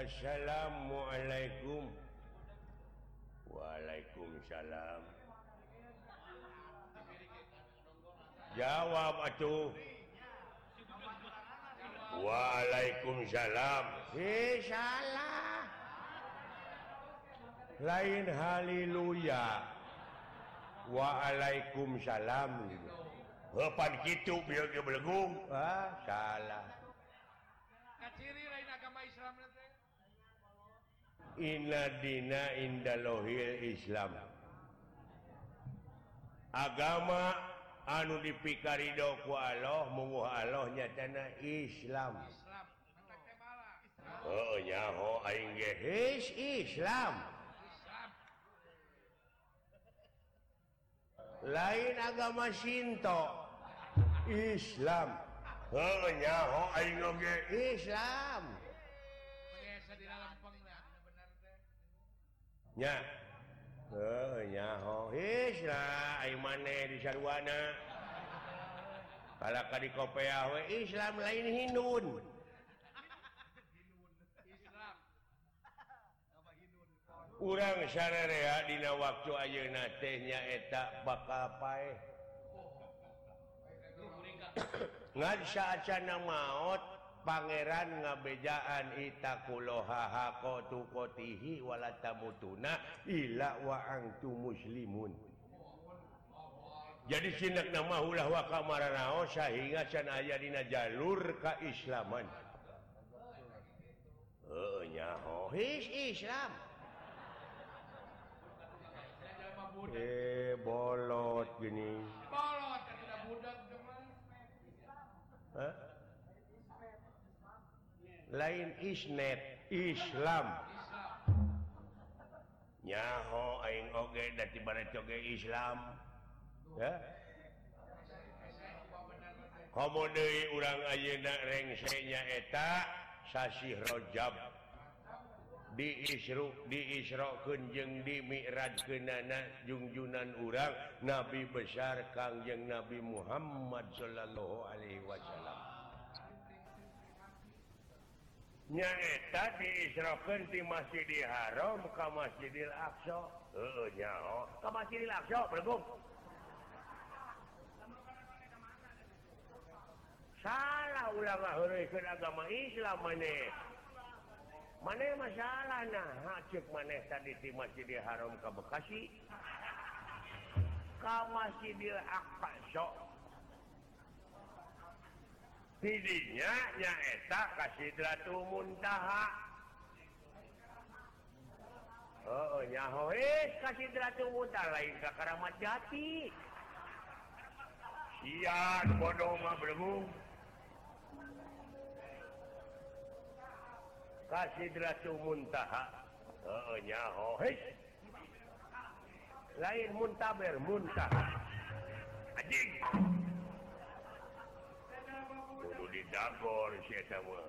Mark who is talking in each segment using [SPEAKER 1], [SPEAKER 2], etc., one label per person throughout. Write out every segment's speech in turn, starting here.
[SPEAKER 1] Assalamualaikum. Waalaikumsalam. Jawab atuh. Waalaikumsalam. Salah. Lain haleluya. Waalaikumsalam. Pan kitu bieu ge belegung. Salah.
[SPEAKER 2] Kaciri lain agama Islam teh.
[SPEAKER 1] Inna dina indalohil Islam. Agama anu dipikarido ku Allah munguh Allah nyatana Islam.
[SPEAKER 2] Islam. Mantap teh malah.
[SPEAKER 1] Oh nyaho aing ge Islam. Lain agama Shinto. Islam. Oh nyaho aing ge Islam.
[SPEAKER 2] Biasa di dalam penglah benar teh.
[SPEAKER 1] Nya. Oh nyaho Islam aing maneh di sarwana. Kalaka di Kopeah we Islam lain Hindun.
[SPEAKER 2] Islam.
[SPEAKER 1] Urang sararea dina waktu ayeuna teh nyaeta bakal paeh. Ngan saacana maot pangeran ngabejaan itakuloha hakotihi wala tamutuna illa wa antum muslimun. Jadi sinek nama ulah wa kamaranaos sehingga can aya dina jalur kaislaman. Heuh nyaho Islam. Bolot gini.
[SPEAKER 2] Bolot kada budak teman.
[SPEAKER 1] Hah? Lain isnet Islam. Nyaho aing oge da tibaraet oge Islam. Ya. Komo deui urang ayeuna rengse nyaeta sasi Rajab. Diisrokeun jeung dimi'rajkeunana junjunan urang Nabi besar Kangjeng Nabi Muhammad sallallahu alaihi wasallam. Nyaeta diisrokeun ti Masjidil Haram ka Masjidil Aqsa. Heuh nyaho, ka Masjidil Aqsa bergum. Salah ulah ngaheureuykeun agama Islam maneh. Maneh masalah nah, cek maneh tadi di Masjidil Haram ka Bekasi. Ka Masjidil Aqsa. Tidinya nyaeta ka Sidratul Muntaha. Heuh nyaho ka Sidratul Muntaha lain ka Karamat Jati. Sian bodoh mah belum. Ka Sidratul Muntaha. Heuh nyaho lain muntaber muntaha. Anjing. Kudu didagor si eta mah.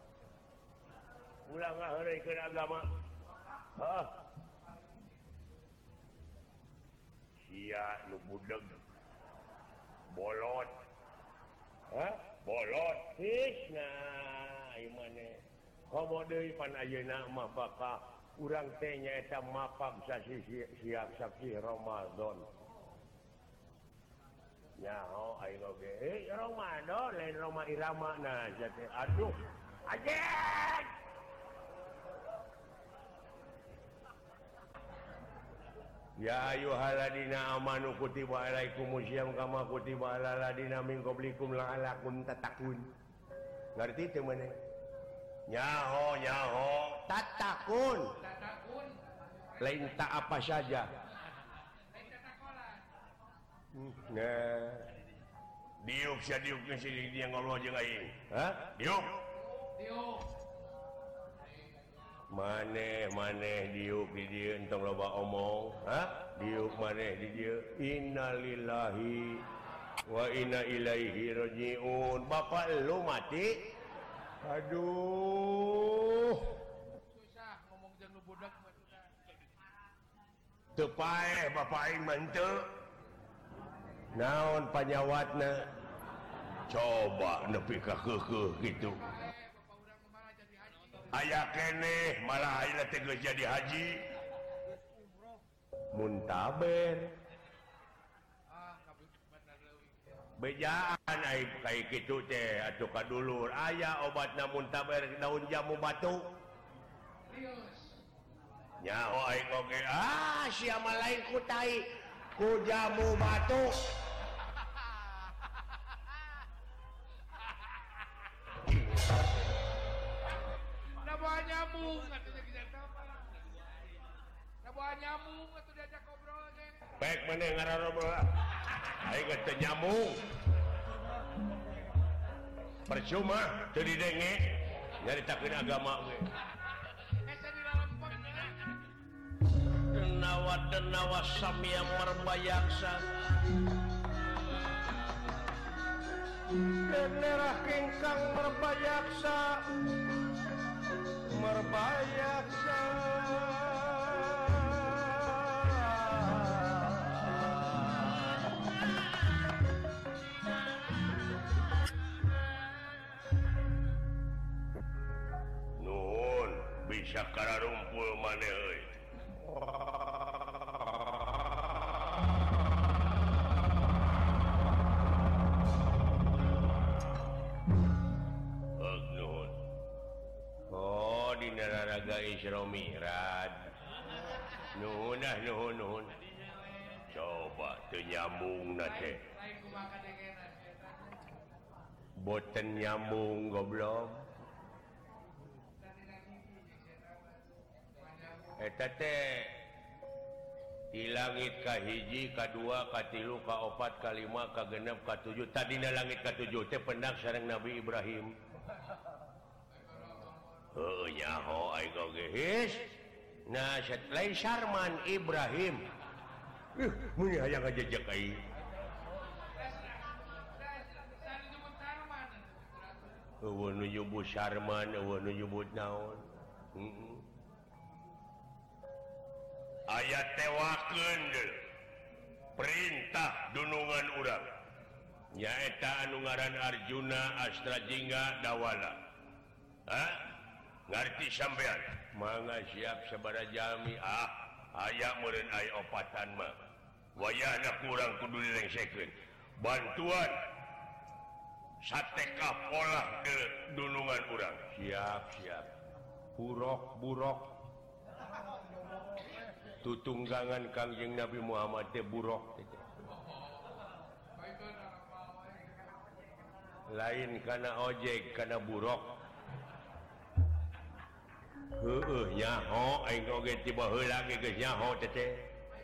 [SPEAKER 1] Ulah ngaheureuykeun agama. Hah. Sia nu budeg. Bolot. Hah? Bolot. Nah, ieu maneh. Komo deui pan ayeuna mah bakal urang teh nyaeta mapag sasi siap saksi Ramadan. Nyaho aing oge Ramadan lain Roma Irama nah jate aduh anjing. Ya ayyuhalladzina amanu kutiba alaikumusiyam kama kutiba alal ladzina min qablikum la'allakum tattaqun. Ngarti teu maneh? Nyaho tatakun lain tak apa saja. Nah diuk sia diuk sini dia ngobrol jeung aing. Hah? Diuk maneh diuk di dieu entong loba omong. Hah? Diuk maneh di dieu. Innalillahi wa inna ilaihi rajiun. Bapak lu mati. Aduh.
[SPEAKER 2] Susah ngomong jeung nu budak mah susah.
[SPEAKER 1] Teu paeh bapak aing mah henteu. Naon panyawatna? Coba nepi ka keukeuh kitu.
[SPEAKER 2] Bapak urang mah jadi haji.
[SPEAKER 1] aya kene malah ayeuna teh geus jadi haji muntaber bejaan ai kai kitu teh atuh kadulur aya obatna muntaber daun jamu batu nyaho aing oge sia mah lain ku tai ku jamu batu
[SPEAKER 2] Nabawa nyamuk atuh kita apa? Nabawa nyamuk atuh diajak ngobrol ge.
[SPEAKER 1] pek meneh ngararobrol aing geus teu nyambung percuma teu didenge nyaritakeun agama we
[SPEAKER 2] Esa di lempeng
[SPEAKER 1] denawa samia merbayaksa generah kengkang merbayaksa nuhun bisa kararumpul maneh euy nuhun oh di nararaga Isra Mi'raj nuhun coba teu nyambung na teh
[SPEAKER 2] lain kumaha kadengenan eta.
[SPEAKER 1] boten nyambung goblok eta teh di langit kahiji, kadua, katilu, kaopat, kalima, kagenep, katujuh. Tadina langit katujuh teh pendak sareng Nabi Ibrahim. Heuh nyaho aing oge his. Nah, lain Sarman Ibrahim. Mun hayang ngajejek aing. Eueuh nu nyebut Sarman, eueuh nu nyebut naon. Ayat tewakeun perintah dunungan urang nyaeta anu ngaran Arjuna Astrajingga Dawala ngarti sampean mangga siap sabaraha jalmi aya meureun aya opatan mah wayahna kurang kudu direngsekeun bantuan sateka pola dunungan urang siap burok tutunggangan Kangjeng Nabi Muhammad teh burok lain kana ojek kana burok heueuh nyaho aing oge tiba heula ge geus nyaho teh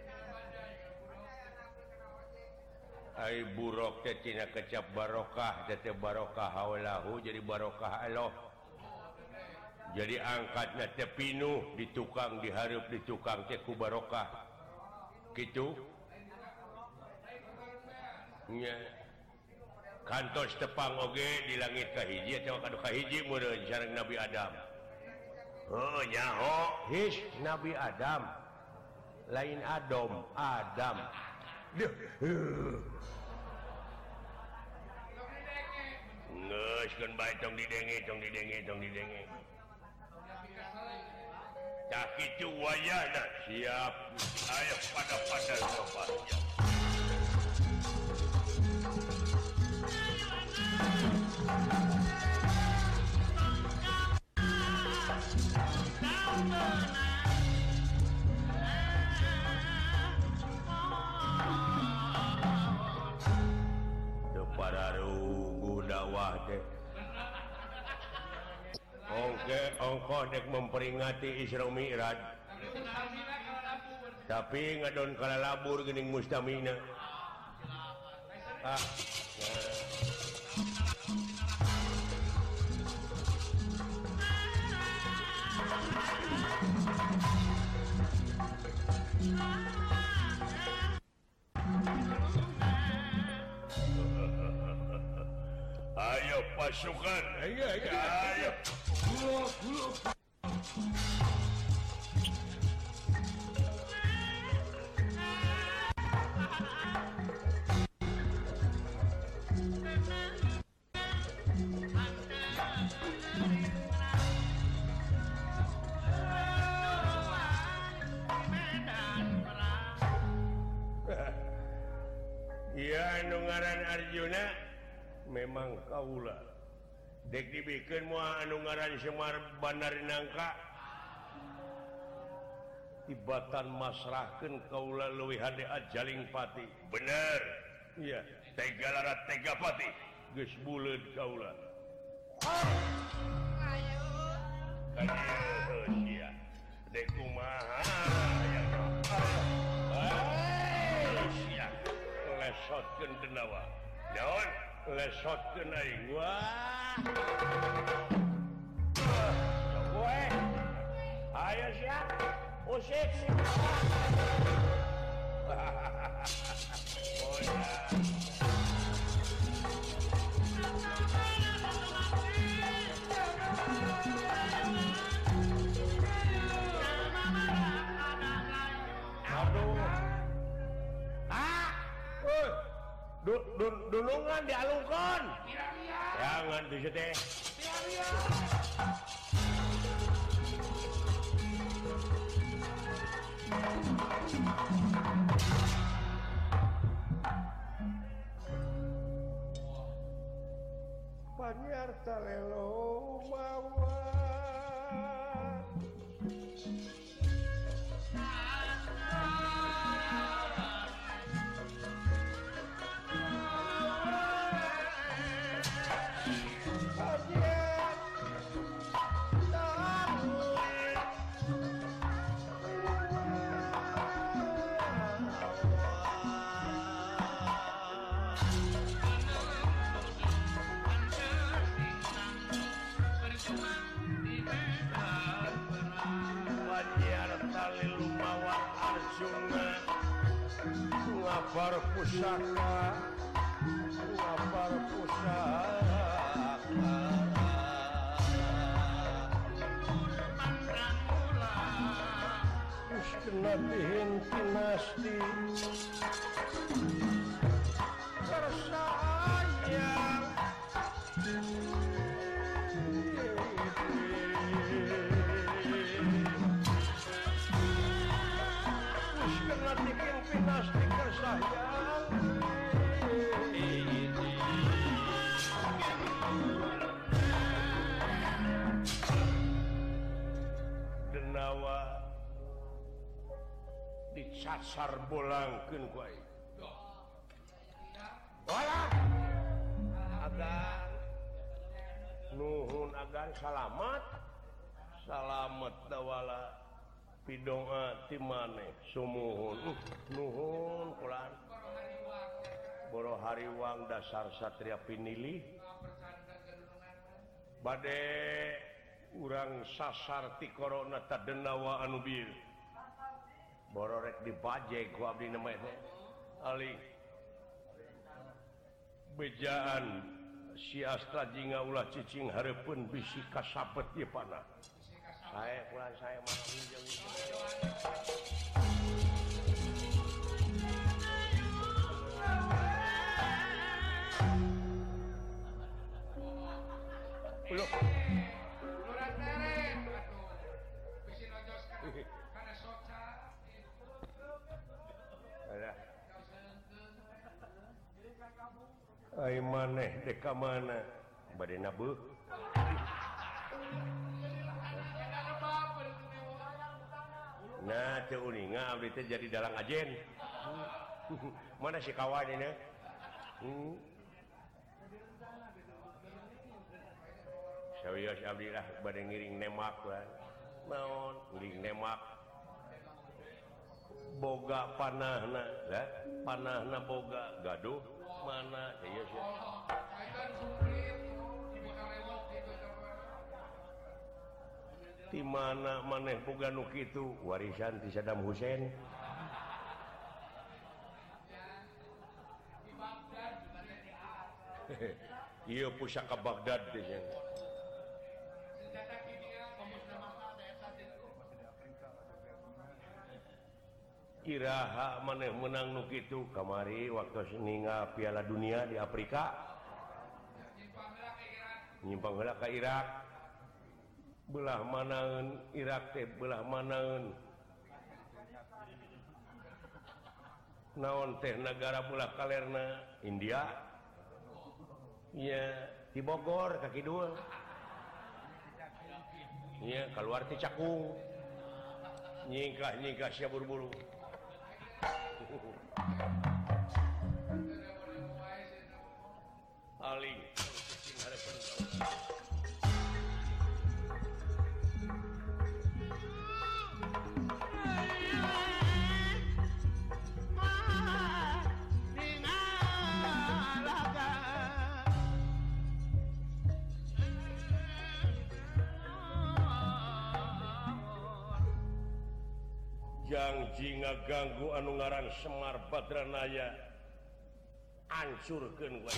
[SPEAKER 1] ai burok teh tina kecap barokah teh barokah haulahu jadi barokah Allah jadi angkatnya teh pinuh di tukang dihareup di tukang teh ku barokah kitu nya kantos tepang oge di langit kahiji atawa kadu kahiji meureun sareng Nabi Adam nyaho his Nabi Adam lain Adam geus keun bae tong didenge tak itu wayahna siap ayo pada sobatnya para rugu dakwah teh ongkoh dek memperingati Isra Mi'raj tapi ngadon kala labur geuning mustamina ayo pasukan ayo ngaran Arjuna memang kaula dek dibikin moal anu ngaran Semar Bandar Nangka tibatan masrahkeun kaula leuwih hade ajaling pati bener iya tega larat tega pati geus buleud kaula ayo sia dek kumaha sia lesotkeun denawa naon lesotkeun aing wah we ayo sia usik Dunungan dialungkan. Jangan di situ. Panyar talelo mawa. Ngapar pusaka terus kena dihinti nasti bersayang terus kena dihinti nasti sayang denawa dicasar bolangkeun ku aing wala agan nuhun agan salamet dawala pidoa ti maneh sumuhun nuhun kulan boro hariwang dasar satria pinilih bade urang sasar ti corona tadenawa anu bir boro rek dibajeg ku abdi na mah ali bejaan si Astra jinga ulah cicing hareupeun bisi kasapet ieu panah saya pulang saya malam minjau Loh.
[SPEAKER 2] Lurang teret atuh. Bisi nojoskan kana soca.
[SPEAKER 1] Alah. Ai maneh dek ka mana? Bade nabeuh. Nah, teu uninga abdi teh jadi dalang ajen. Mana si kawan ini? Sawios abdi lah bade ngiring nemak lah. Naon ngiring nemak. Boga panahna, lah. Panahna boga gaduh mana ieu sih. Di mana maneh boga nu kitu warisan ti Saddam Hussein. Ieu pusaka Baghdad teh. Iraha maneh menang nu kitu kamari waktu ningal Piala Dunia di Afrika. Nyimpang heula ka Irak. Belah manaeun Irak teh belah manaeun naon teh negara pula kalerna India iya di Bogor kaki dua iya keluar ti Cakung nyingkah sia buru-buru aling janji ngaganggu anu ngaran Semar Badranaya hancurkeun we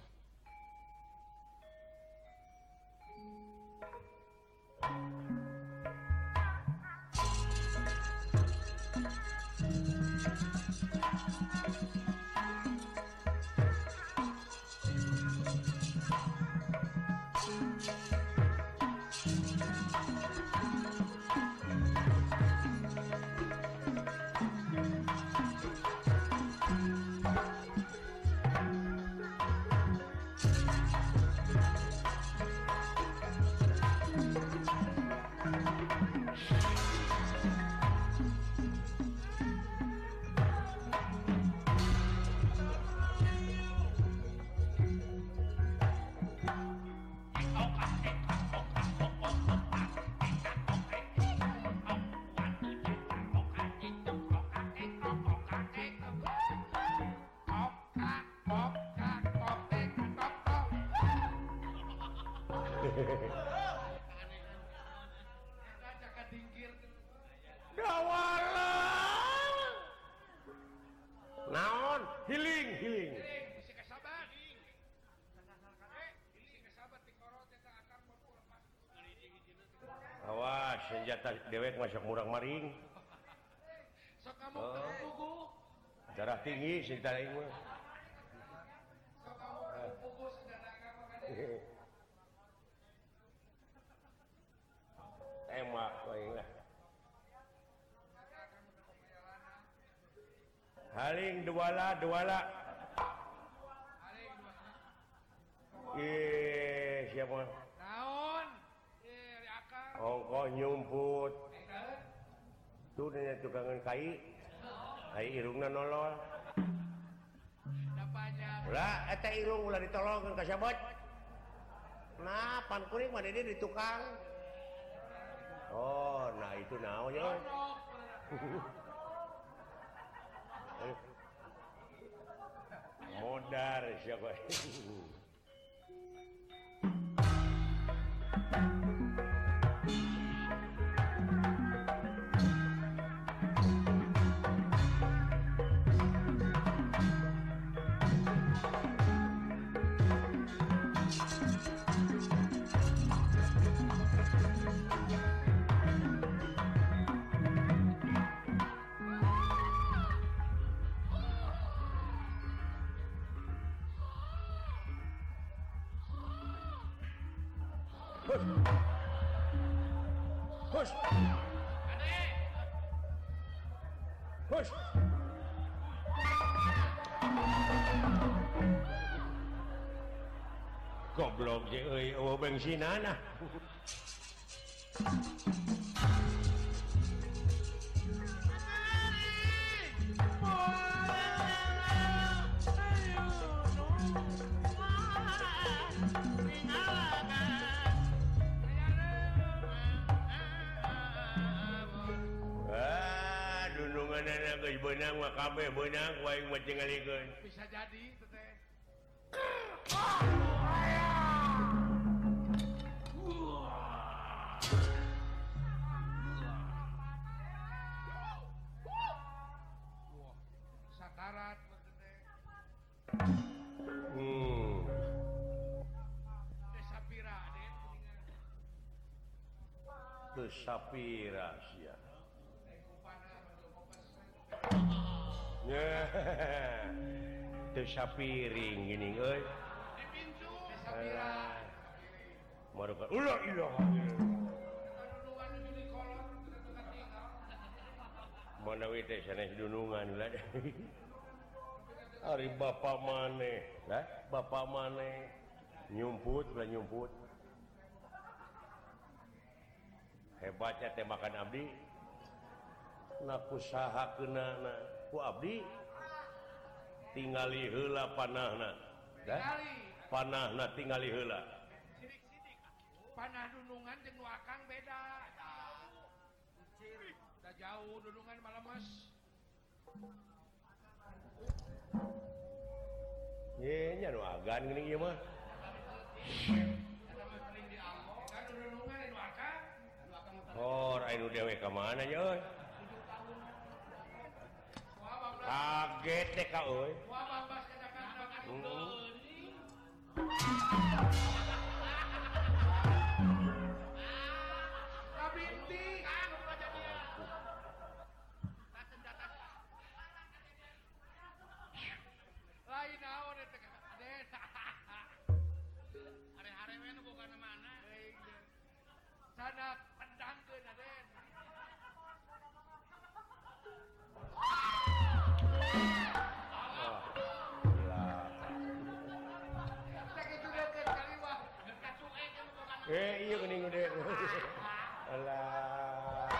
[SPEAKER 1] naon healing awas senjata dewek masuk murang maring
[SPEAKER 2] sok kamu pugu
[SPEAKER 1] darah tinggi senjata aing mah
[SPEAKER 2] sok kamu pugu senjata kamu kan
[SPEAKER 1] emak aing lah haling duala siapa
[SPEAKER 2] naon ari akar
[SPEAKER 1] ongkoh nyumput tuh nya tukangan kai irungna nolol
[SPEAKER 2] da panjang
[SPEAKER 1] ulah eta irung ulah ditolongkeun ka sabot nah pan kuring mah di tukang oh nah itu naon ya modar siapa Hush. Hush. Goblok je euy eueuh bensinana. Benang mah kabeh benang wae mah cengalikeun.
[SPEAKER 2] Bisa jadi teh. Sakarat teh. Sapira deh.
[SPEAKER 1] Teu sapira sia. Teu sapiring gini euy.
[SPEAKER 2] Di pintu sapira.
[SPEAKER 1] Maruka ulah ilaha mana we teh sanes dunungan ulah. Ari bapak maneh, bapak maneh nyumput. Hebatnya teh makan abdi. Nak usahakeunana ku abdi tingali heula panahna. Panahna tingali heula.
[SPEAKER 2] Sidik-sidik panah dunungan jeung nu akang beda. Da jauh dunungan malemes.
[SPEAKER 1] Ye nya nu agan geuning ieu mah. Oh, anu dewe ka mana nya euy? Kaget teh ka euy.
[SPEAKER 2] Lain naon eta desa. Are-are we nu boga mana? Sana pendangkeun Aden.
[SPEAKER 1] Iya geuning gede. Alah.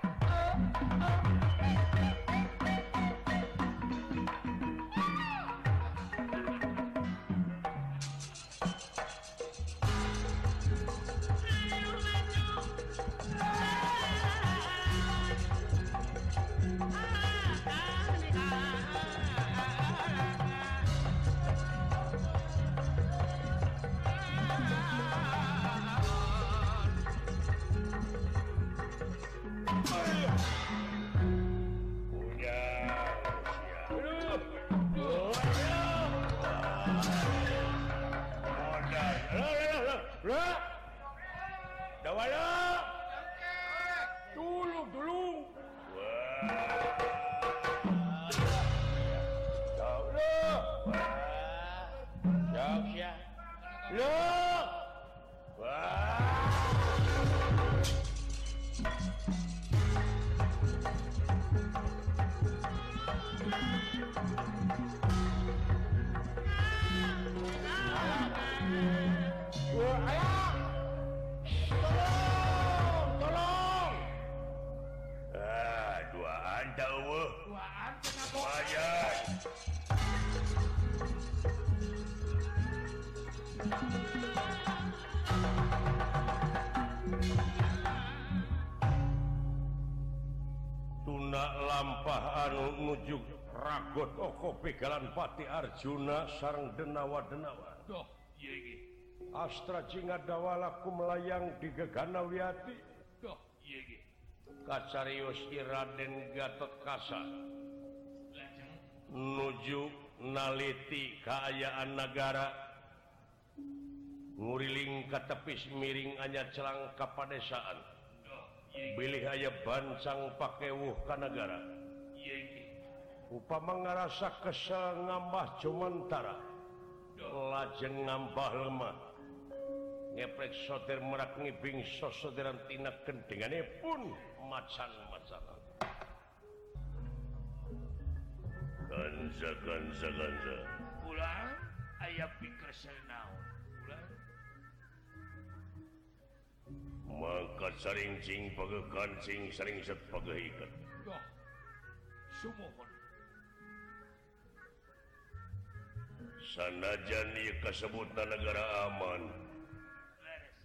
[SPEAKER 1] Lampah anu nuju ragot oko pegalan Pati Arjuna sareng denawa-denawa.
[SPEAKER 2] Doh, ieu ge.
[SPEAKER 1] Astra Cingadawala melayang di Gegana Wiyati.
[SPEAKER 2] Doh, ieu ge.
[SPEAKER 1] Kacarios Raden Gatotkaca nuju naliti kaayaan nagara. Nguriling ka tepis miring anya celang ka padesaan. Bilih aya bancang pakewuh ka negara. Upama ngarasa kesel ngambah Jomantara, lajeng ngambah lemah. Ngeprek soter merak ngibing sosoderan tina kendengane pun macan-macanan. Ganza.
[SPEAKER 2] Ulah aya pikir naon. Ulah
[SPEAKER 1] mangkat saring-cing pagekancing saring set pagahikan.
[SPEAKER 2] Doh, sumohon.
[SPEAKER 1] Sanajan ieu kasebutna negara aman.
[SPEAKER 2] Leres.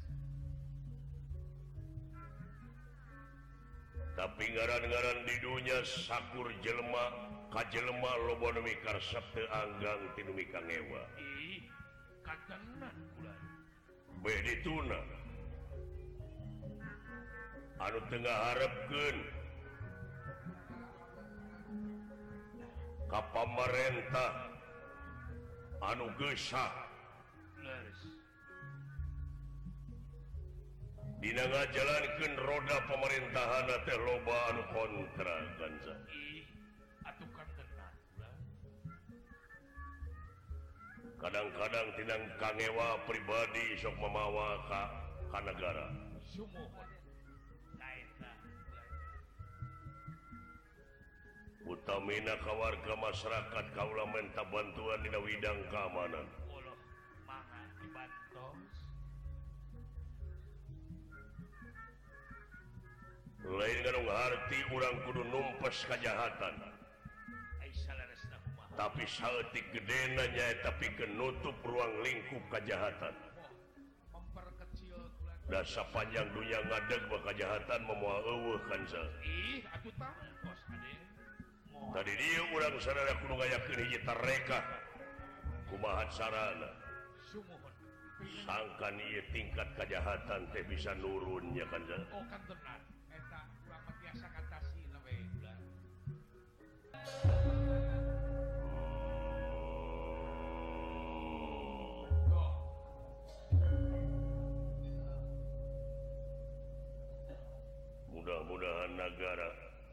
[SPEAKER 1] Tapi ngaran-ngaran di dunya sakur jelema ka jelema loba nu mikarsep teu anggang ti nu mikangewa.
[SPEAKER 2] Ih, kagenan ulah.
[SPEAKER 1] Beh dituna anu tengah harapkeun ka pamarentah anu geusak
[SPEAKER 2] Leres.
[SPEAKER 1] dina ngajalankeun roda pamerintahan teh loba anu kontra Ganza.
[SPEAKER 2] Ih, atuh kagenan ulah.
[SPEAKER 1] Kadang-kadang tinang kangewa pribadi sok mamawa ka negara.
[SPEAKER 2] Sumohon.
[SPEAKER 1] utamina ka warga masyarakat kaula minta bantuan dina widang keamanan.
[SPEAKER 2] Ulah mangga dibantos.
[SPEAKER 1] Lain ngarung harti urang kudu numpes kajahatan.
[SPEAKER 2] Ai salaresna kumaha.
[SPEAKER 1] Tapi saeutik gedena nyaeta pikeun nutup ruang lingkup kajahatan.
[SPEAKER 2] Memperkecil tulang.
[SPEAKER 1] Da sapanjang dunya ngadeg ba kajahatan memoal eueuh kansa.
[SPEAKER 2] Ih, atuh tangkos ade.
[SPEAKER 1] Tadi dia urang sadaya kudu ngayakeun hiji tareka. Kumaha carana?
[SPEAKER 2] Sumuhun.
[SPEAKER 1] Sangkan ieu tingkat kajahatan teh bisa nurun nya kansa.
[SPEAKER 2] Oh kan tenan. Eta urang mah biasa ngatasi we ulah.
[SPEAKER 1] Mudah-mudahan negara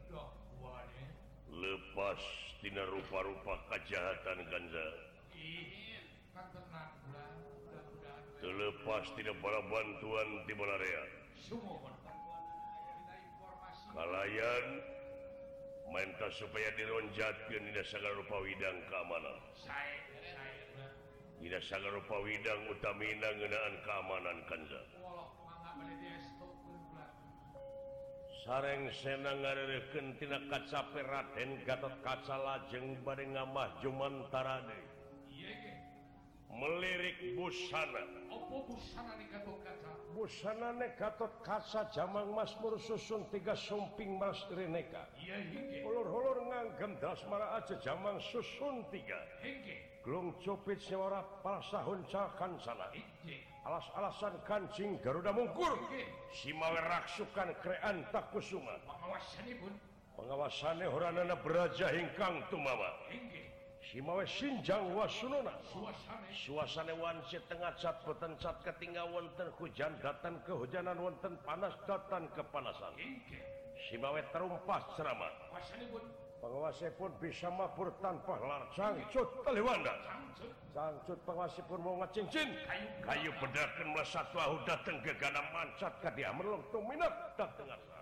[SPEAKER 1] lepas tina rupa-rupa kejahatan kanza.
[SPEAKER 2] Kan tenan ulah. Mudah-mudahan
[SPEAKER 1] Terlepas tina para bantuan ti Balarea.
[SPEAKER 2] sumuhun. Kita informasi.
[SPEAKER 1] Kalayan minta supaya dironjatkeun dina sagala rupa widang keamanan.
[SPEAKER 2] Saya ulah.
[SPEAKER 1] Dina sagala rupa widang utamina ngeunaan keamanan kanza.
[SPEAKER 2] Walau mangga bade diestokeun ulah.
[SPEAKER 1] Sareng senang ngareureukeun tina kacape Raden Gatotkaca lajeng bade ngambah jumantara deui.
[SPEAKER 2] Ieu ge.
[SPEAKER 1] Melirik busana.
[SPEAKER 2] Opo busana ni Gatotkaca?
[SPEAKER 1] Busanane Gatotkaca jamang Mazmur susun 3 sumping Mas Reneka.
[SPEAKER 2] Ieu hingge.
[SPEAKER 1] Ulur-ulur nganggem dasmara aja jamang susun 3.
[SPEAKER 2] Hingge.
[SPEAKER 1] Glung cupit sewara palasahun cakan sana.
[SPEAKER 2] Hingge.
[SPEAKER 1] Alas-alasan kancing Garuda Mungkur.
[SPEAKER 2] Hingge.
[SPEAKER 1] Simawe raksukan krean takusuma.
[SPEAKER 2] Pengawasanipun.
[SPEAKER 1] Pengawasannya horanana beraja hingkang tumama.
[SPEAKER 2] Hingge.
[SPEAKER 1] Simawe sinjang wasunona.
[SPEAKER 2] Suasana.
[SPEAKER 1] Suasana wanci tengah cat beten cat ketinggal wonten hujan datang kehujanan wonten panas datang kepanasan.
[SPEAKER 2] Hingge.
[SPEAKER 1] Simawe terumpas ceramah.
[SPEAKER 2] Pengawasanipun.
[SPEAKER 1] Pengawasanipun bisa mapur tanpa lar cangcut taliwanda.
[SPEAKER 2] Sangcut.
[SPEAKER 1] Cangcut pengawasanipun mau ngecincin. Kayu bedakan melesat wahu datang ke gana mancat ka dia merlong tuminat datang asa.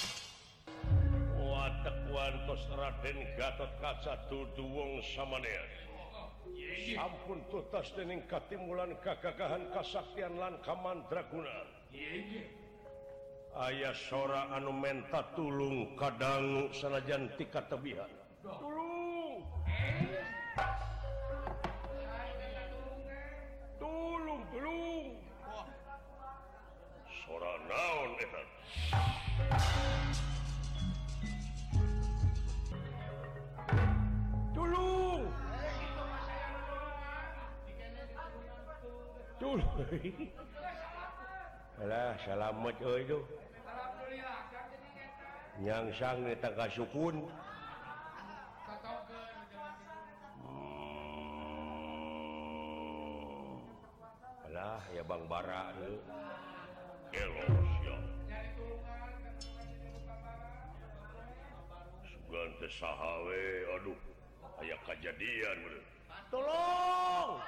[SPEAKER 1] Watek wantos Raden Gatotkaca dudu wong samanea. Sampun tutas dening katimulan kagagahan kasaktian lan kamandraguna.
[SPEAKER 2] Hingge.
[SPEAKER 1] Aya sora anu menta tulung kadangu sanajan ti katebihan. Tulung, tulung, tulung. Sora naon eta? Tulung. Tulung. Alah, salamet euy tuh.
[SPEAKER 2] Alhamdulillah kan jadi eta.
[SPEAKER 1] Nyangsang eta kasukun.
[SPEAKER 2] Satokeun
[SPEAKER 1] Alah, ya Bang Bara tuh. Elos ya.
[SPEAKER 2] nyari tulungan kan
[SPEAKER 1] Sugan teh saha we, aduh. Aya kajadian bener. Tolong.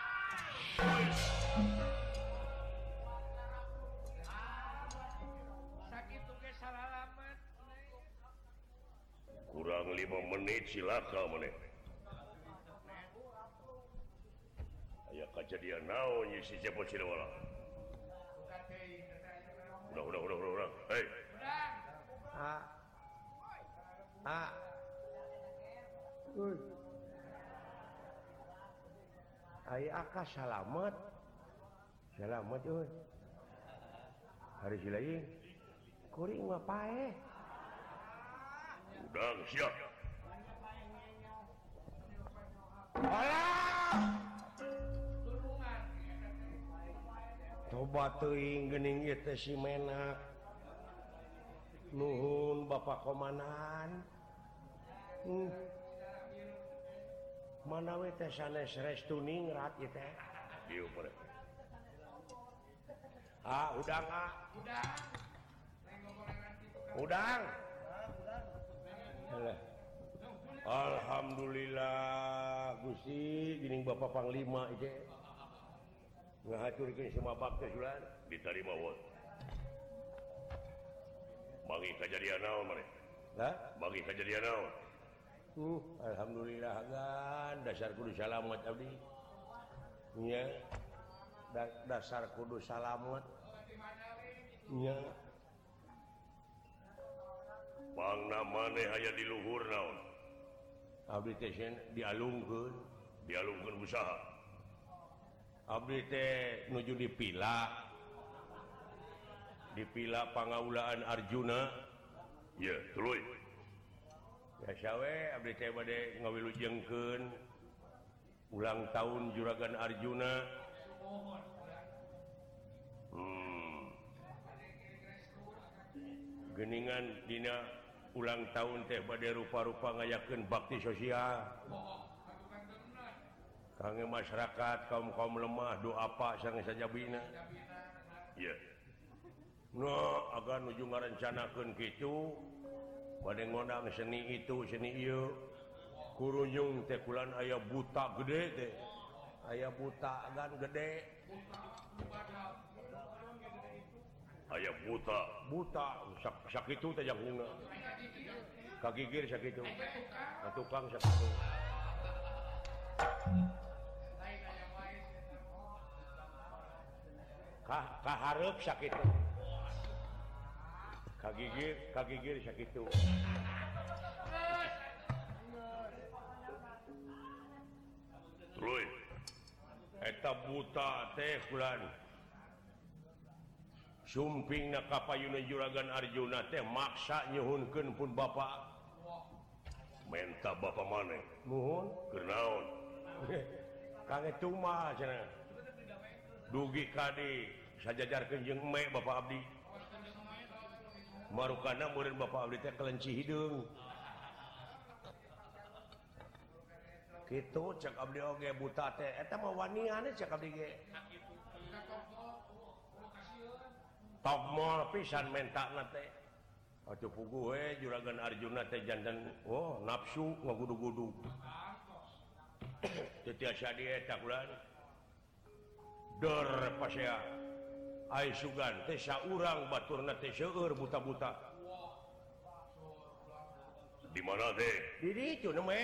[SPEAKER 2] sakitu ge salalamet.
[SPEAKER 1] Kurang 5 menit silaka maneh. Aya kajadian naon ye si Cepot Sidawala? Udah. Hei. Aya aka salamet. Salamet euy. Hari silaing. Kuring mah paeh. Udang siap. Alah! Coba teuing geuning ieu teh si Menak. Nuhun Bapak Komandan. Mana we teh sanes restu ningrat ieu teh. Dieu pare. Udang ah. Udang. Alah. Alhamdulillah Gusti geuning Bapak Panglima ieu. Ngahaturkeun sumabak teh sulan ditarima wae. Bagi kejadian naon maneh? Hah? Bagi kejadian naon? Alhamdulillah dasar kudu salamet abdi nya dasar kudu salamet nya
[SPEAKER 3] Bangna maneh aya di luhur naon
[SPEAKER 1] abdi teh dialungkeun
[SPEAKER 3] usaha
[SPEAKER 1] abdi teh nuju dipila pangaulaan Arjuna
[SPEAKER 3] ya tuluy
[SPEAKER 1] biasa we abdi teh bade ngawilujengkeun ulang tahun Juragan Arjuna geningan dina ulang tahun teh bade rupa-rupa ngayakeun bakti sosial kangge masyarakat kaum lemah doa apa sareng sajabina
[SPEAKER 3] ya
[SPEAKER 1] agar nuju ngarencanakeun kitu bade ngondang seni itu seni ieu kurunyung teh kulan aya buta gede teh aya buta gan gede
[SPEAKER 3] aya buta
[SPEAKER 1] sakitu teh jangkungna kagigir sakitu tukang sakitu kahareup sakitu kagigir sakitu
[SPEAKER 3] tuluy
[SPEAKER 1] eta buta teh kulan sumpingna kapayuna Juragan Arjuna teh maksa nyuhunkeun pun bapak
[SPEAKER 3] menta bapa maneh
[SPEAKER 1] nuhun
[SPEAKER 3] keur naon
[SPEAKER 1] kang etu mah cenah dugi kadi sajajarkeun jeung eme bapak abdi marukana murid bapak abdi teh kelenci hideung kitu cek abdi oge buta teh eta mah wanian cek abdi ge togmol pisan mentana teh atuh puguh we Juragan Arjuna teh janten nafsu ngagudu-gudu teu tiasa dieta kulan dor pasea ai sugan teh saurang baturna teh seueur buta-buta
[SPEAKER 3] di mana teh
[SPEAKER 1] di ditu me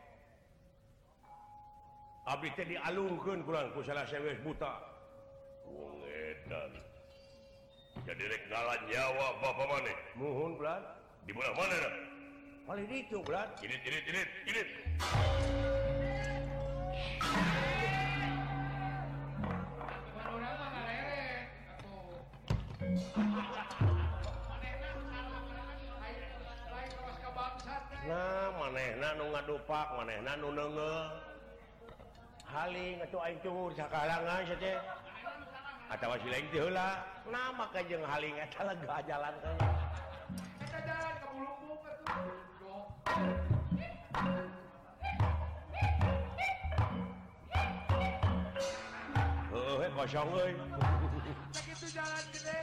[SPEAKER 1] abdi teh dialungkeun kulan ku salah sewes buta
[SPEAKER 3] wong edan jadi rek ngalan nyawa bapa maneh
[SPEAKER 1] nuhun kulan
[SPEAKER 3] di mana na
[SPEAKER 1] paling ditu kulan
[SPEAKER 3] ini
[SPEAKER 1] nah manehna nu ngadupak manehna nu neungeul haling atuh aing cuhur sakalangan sia teh atawa si lain teh heula nah maka jeung haling eta lega jalan teh
[SPEAKER 2] Kita jalan ke Bulungbung atuh.
[SPEAKER 1] heueuh kosong euy
[SPEAKER 2] Begitu jalan gede.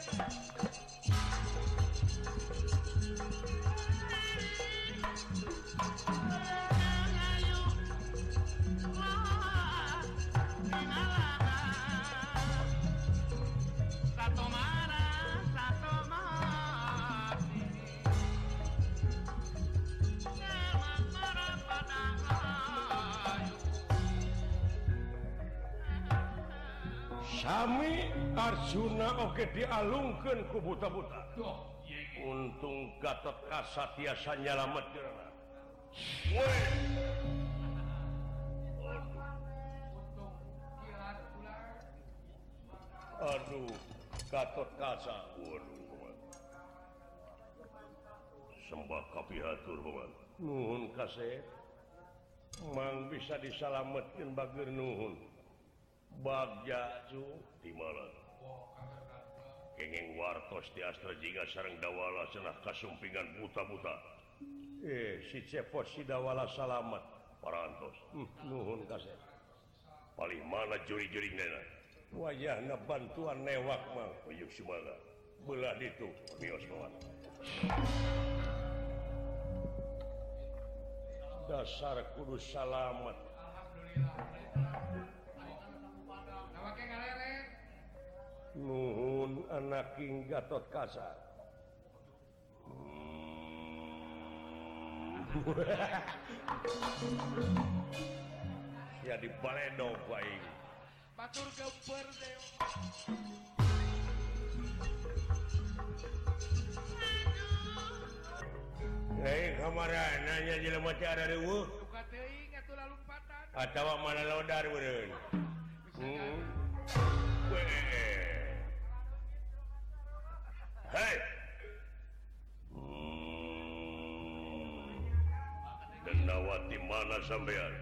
[SPEAKER 1] Sami Arjuna oge dialungkeun ku buta-buta. Untung Gatot Kaca tiasa nyalametkeun.
[SPEAKER 3] woi
[SPEAKER 1] Aduh, Gatot Kaca.
[SPEAKER 3] waduh sembah kapihatur paman
[SPEAKER 1] Nuhun kasep. Mang bisa disalametkeun bageur nuhun. Bagja cu
[SPEAKER 3] di mana kenging wartos di astra jingga sareng dawala cenah kasumpingan buta-buta
[SPEAKER 1] si Cepos si Dawala salamet.
[SPEAKER 3] parantos
[SPEAKER 1] Nuhun kasep.
[SPEAKER 3] paling mana juri-juri nena
[SPEAKER 1] Wayahna bantuan newak mang.
[SPEAKER 3] uyuk sumaga
[SPEAKER 1] Belah ditu.
[SPEAKER 3] mios paman
[SPEAKER 1] Dasar kudu salamet.
[SPEAKER 2] Nawake ngaleret.
[SPEAKER 1] Nuhun anak King Gatot Kaca. Ya di baledog aing.
[SPEAKER 2] Batur gemper deh.
[SPEAKER 1] Kamara nanya jelema cara reueuh.
[SPEAKER 2] Duka teuing atuh lalumpatan.
[SPEAKER 1] Atawa mana lodar beureun. Hei. Denawati mana sampean?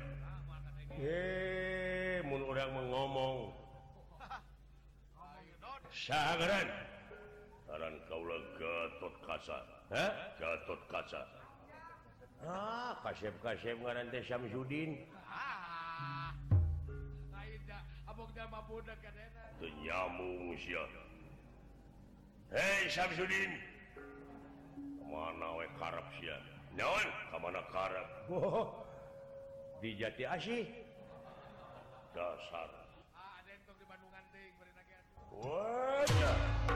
[SPEAKER 1] Mun urang ngomong. Saharan. Aran kaula Gatot Kaca. Hah? Gatot Kaca. Kasep ngaran teh Syamsuddin.
[SPEAKER 2] Lain dah, abog dah mabudak kadena.
[SPEAKER 3] Teu nyamung sia. Hei Syamsuddin. Kemana we karep sia? Naon? Kamana karep?
[SPEAKER 1] Di Jati Asih.
[SPEAKER 3] Dasar.
[SPEAKER 2] Ada yang tong di Bandungan teuing bari nage atuh.
[SPEAKER 1] Wah.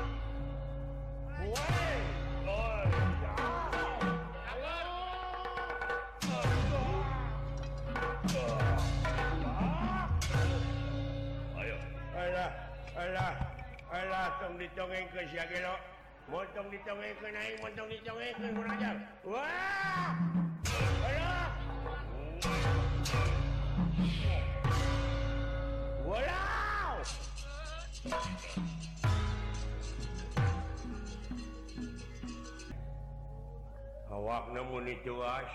[SPEAKER 1] Alah, tong dicongengkeun sia ge lo. Motong dicongengkeun aing, motong dicongengkeun mun aja. Wah! Alah. Walau. Awakna mun dituas.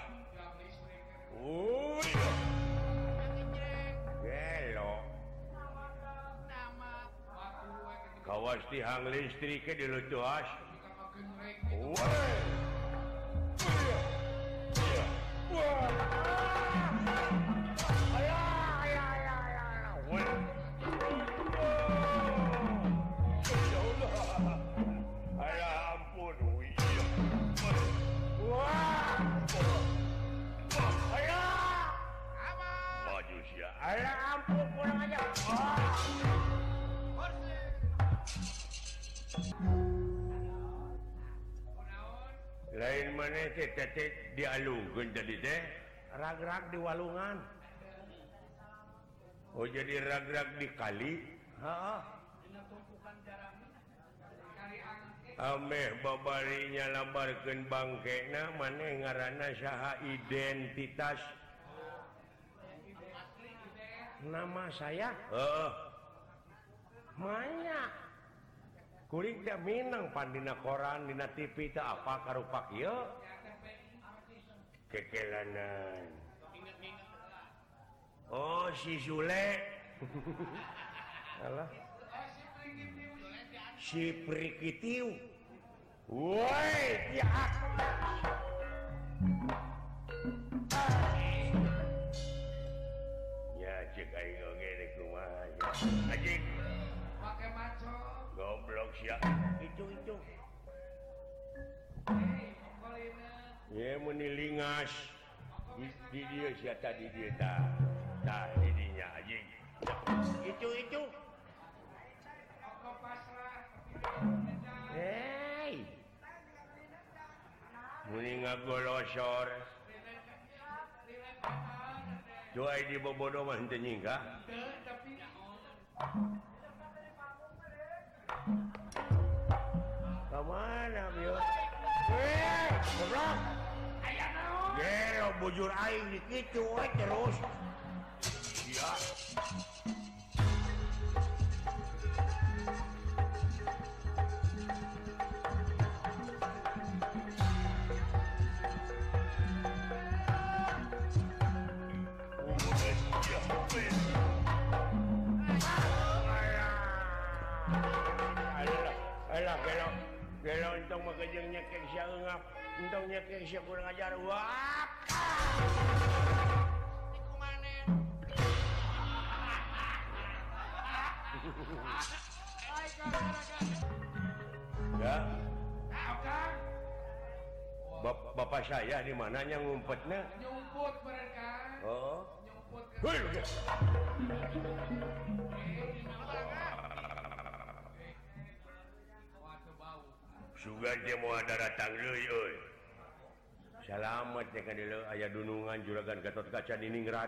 [SPEAKER 1] Gelo. Kawas tihang listrik ke di lutuas. Alah ampun. Maju sia. Alah ampun pulang aja. Lain mana teh dialungkeun tadi teh rag-rag di walungan. Oh jadi rag-rag di kali? Heeh. Ameh babarinya lambarkeun bangkena maneh ngaranna saha identitas? Nama saya? Heeh. Manya. Kuring teh minang pan dina koran, dina TV teh apa karupa kieu? Kekelanan. Oh, si Sule. Alah. Si Prikitiu. Woi, ya. Ya, cek aing oge deh kumaha. Ajik.
[SPEAKER 2] Pakai maco.
[SPEAKER 1] Goblok sia. Itu. Ye meni lingas. Di dia sia tadi dia tah. Tah di dinya anjing. Itu.
[SPEAKER 2] Oko pasrah.
[SPEAKER 1] Hei. Meni ngagolosor. Joai di bobodo mah henteu nyingga.
[SPEAKER 2] Tapi
[SPEAKER 1] Kemana, Bio? Goblok!
[SPEAKER 2] aya naon?
[SPEAKER 1] Gelo, bujur aing di kitu we terus. Sia. Alah, gelo entong makajeng nyekek sia eungap, entong nyekek sia kurang ajar. Wah.
[SPEAKER 2] Iku maneh. Ai gara-gara.
[SPEAKER 1] Ya,
[SPEAKER 2] Tahu kan?
[SPEAKER 1] bapak saya di mananya ngumpetnya?
[SPEAKER 2] Nyumput beren kan?
[SPEAKER 1] Oh.
[SPEAKER 2] Nyumput kan?
[SPEAKER 1] Hei,
[SPEAKER 2] Waduh bau.
[SPEAKER 1] sugan teh moal datang deui euy. selamat ya kan dulu aya dunungan juragan Gatot Kaca di Ningrat.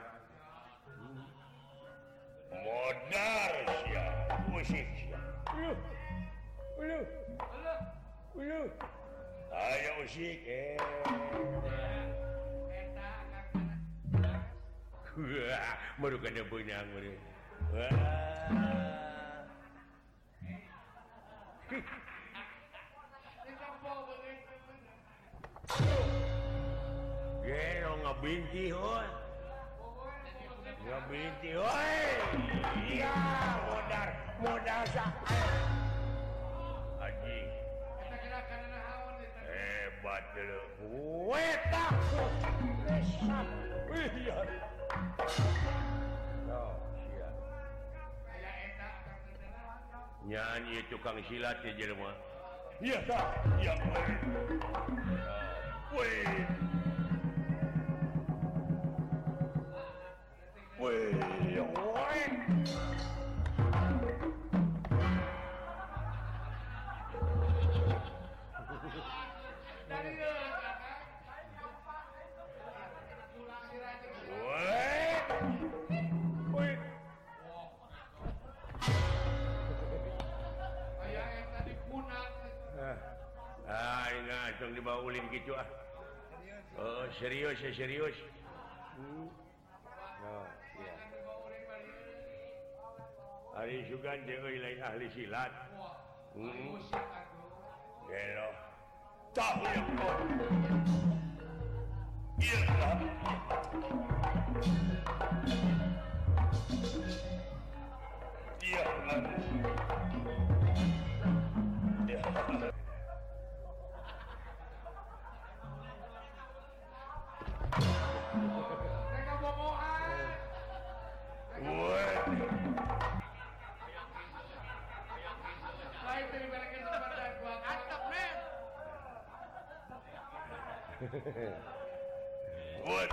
[SPEAKER 3] Modar sia, musik sia.
[SPEAKER 1] Ulu.
[SPEAKER 3] Ayo musik.
[SPEAKER 1] Wah, baru kada benang baru. Wah. Gelo ngabinti hoi. Ngabinti hoi. Iya, modar sak. Haji. Hebat dulu. Weta. Resap. Iya. Oh, iya. Nyanyi tukang silat ya jelema.
[SPEAKER 3] Iya tak? Iya. Woi.
[SPEAKER 1] Langsung dibawa ulin gitu ah. Oh, serius. Oh, iya. Hari Sugan jeung lain ahli silat. Gelo.
[SPEAKER 3] Tak yang kau. Iya tak? Iya kan?
[SPEAKER 2] Mereka bohongan. Lain dari mereka tempatnya gua antep men.
[SPEAKER 3] What?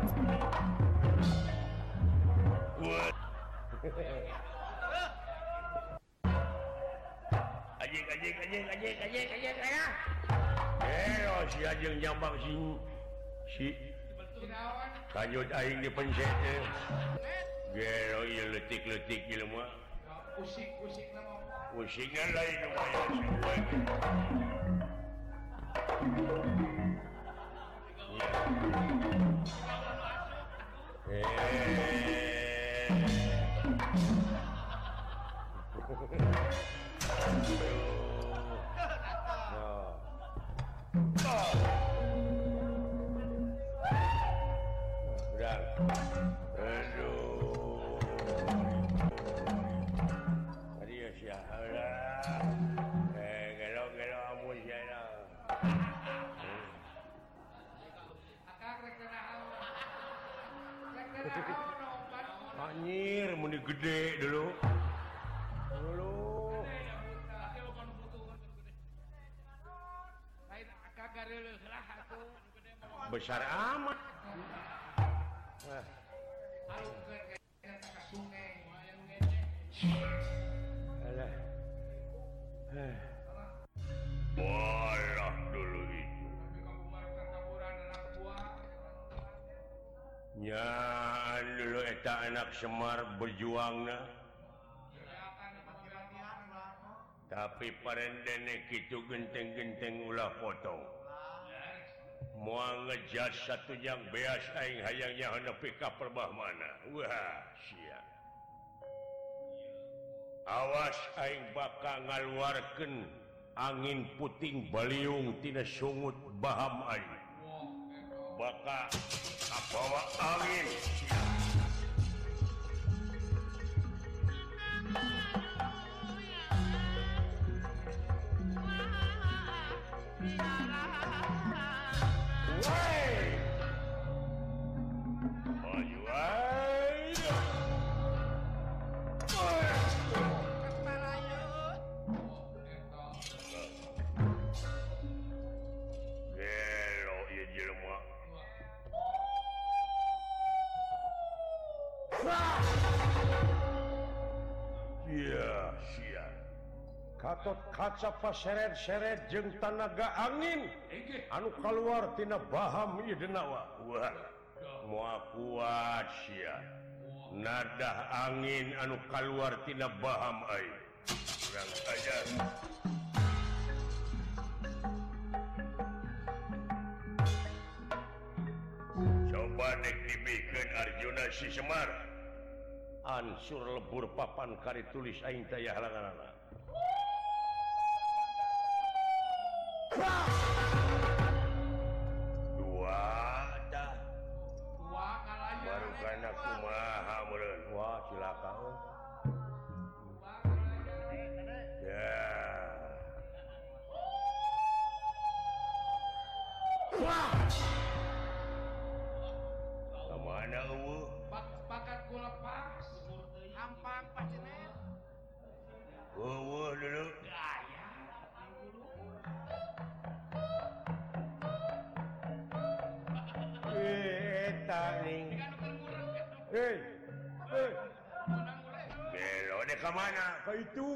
[SPEAKER 1] Anjing. Si Ajeng nyambang si
[SPEAKER 2] Kinawan.
[SPEAKER 1] kanyut aing dipencet teh. Gelo ieu leutik-leutik ieu mah.
[SPEAKER 2] Pusing nama.
[SPEAKER 3] Musiknya lain lumayan semua.
[SPEAKER 1] Anjir, muni gede dulu. Besar amat. Alah.
[SPEAKER 3] Walah dulu itu.
[SPEAKER 1] Nyan dulu eta anak Semar berjuangna. Tapi parendene kitu genteng-genteng ulah potong. Moal ngejas satu yang beas aing hayangnya nepi ka perbah mana. Wah, sia. Awas aing bakal ngaluarkeun angin puting baliung tina sungut baham aing. Bakal kabawa angin. Katot kaca paseret-seret jeung tanaga angin anu keluar tina baham idenawa. Wah, moal kuat sia. Nadah angin anu keluar tina baham ai. Kurang ajar. Coba dek dibikeun Arjuna si Semar. Ansur lebur papan kari tulis aing teh halanganna. Dua dah.
[SPEAKER 2] Dua kalanya.
[SPEAKER 1] Baru kana kumaha meureun. Wah, cilaka euy.
[SPEAKER 2] Dua kalanya.
[SPEAKER 1] Ya. Wah. Kamana eueuh?
[SPEAKER 2] Bakat ku lepas. Hampang pacenet.
[SPEAKER 1] Eueuh dulu.
[SPEAKER 2] Gaya.
[SPEAKER 1] Eta ning. Hei. Hei. Belo deh ke mana? Ke itu.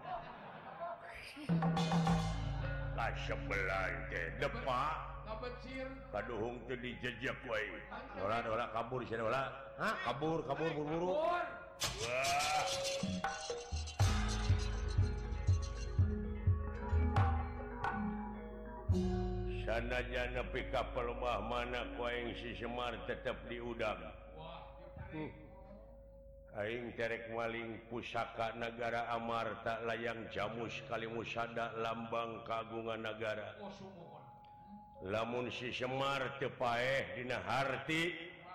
[SPEAKER 1] Ka sebelah teh depak.
[SPEAKER 2] Ngabecir.
[SPEAKER 1] Kaduhung teu dijejak wae. Dola kabur sia dola. Hah? Kabur buru-buru.
[SPEAKER 2] Kabur.
[SPEAKER 1] Wah. Sanajan nepi ka pelumah mana ku aing si Semar tetep diudang. Aing terek maling pusaka negara Amarta layang jamus kalimusada lambang kagungan negara.
[SPEAKER 2] Oh sumuhun.
[SPEAKER 1] Lamun si Semar teu paeh dina harti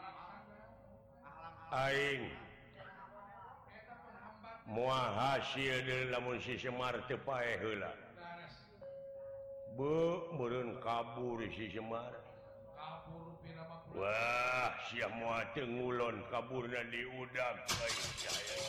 [SPEAKER 1] aing moal hasil deui lamun si Semar teu paeh heula. Meureun kabur si Semar.
[SPEAKER 2] Kabur pira mah.
[SPEAKER 1] Wah, sia moal teu ngulon kaburna diudag.